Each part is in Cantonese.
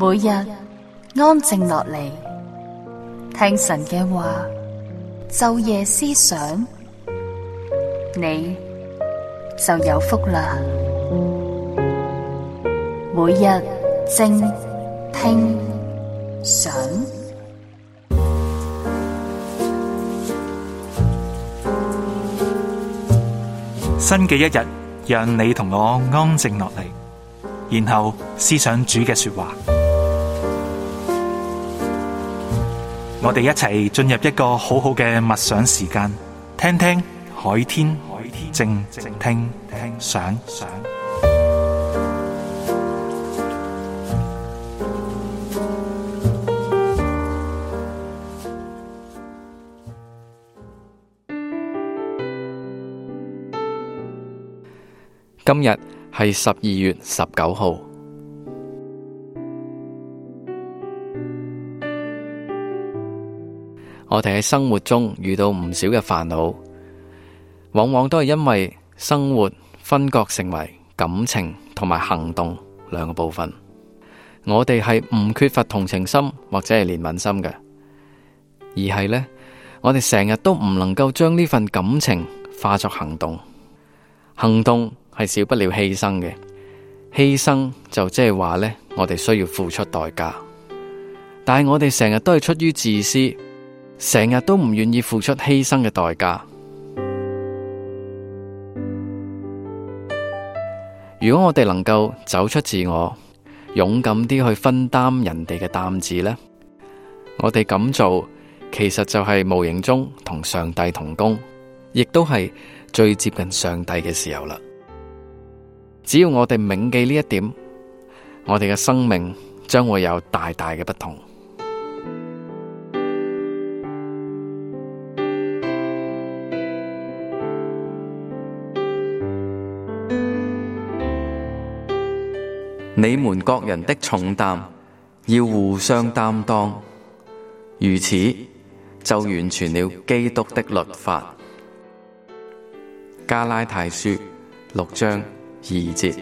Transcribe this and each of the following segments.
每日安靜落嚟，聽神嘅話，晝夜思想，你就有福啦。每日靜聽想， 新嘅一日，讓你同我安靜落嚟，然後思想主嘅說話。我哋一齊進入一個好好嘅默想時間，聽聽海天靜聽想。 今日係12月19號。我哋喺生活中遇到唔少嘅煩惱，往往都係因為生活分割成為感情同埋行動兩個部分。我哋係唔缺乏同情心或者係憐憫心嘅，而係呢，我哋成日都唔能夠將呢份感情化作行動。行動係少不了犧牲嘅，犧牲就即係話呢，我哋需要付出代價。但係我哋成日都係出於自私，成日都唔願意付出犧牲嘅代價。如果我哋能夠走出自我，勇敢啲去分擔人哋嘅擔子呢，我哋咁做其實就係無形中同上帝同工，亦都係最接近上帝嘅時候啦。只要我哋銘記呢一點，我哋嘅生命將會有大大嘅不同。你們各人的重擔要互相擔當，如此就完全了基督的律法。加拉太書6章2節。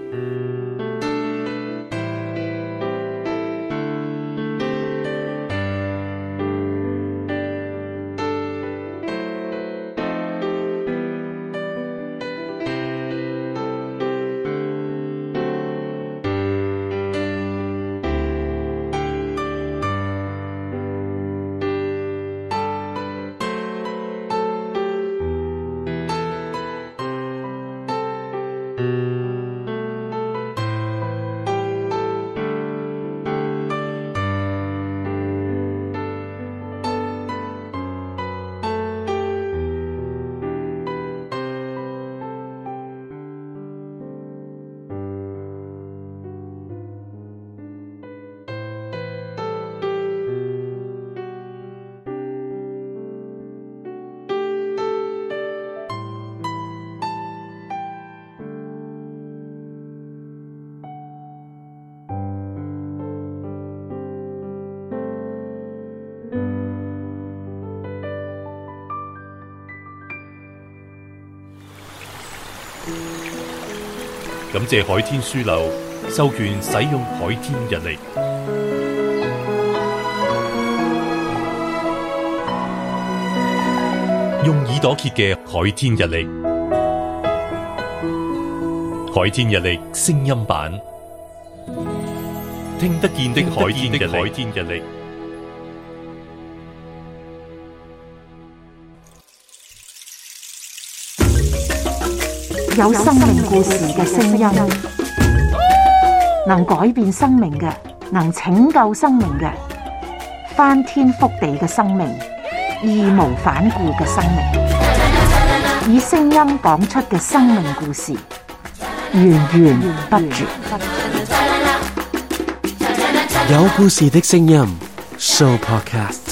感謝海天書樓授權使用海天日曆，用耳朵揭嘅海天日曆，海天日曆聲音版，聽得見的海天日曆。 有生命故事嘅聲音，能改變生命嘅，能拯救生命嘅，翻天覆地嘅生命，義無反顧嘅生命，以聲音講出嘅生命故事，源源不絕。 有故事的聲音 Show Podcast。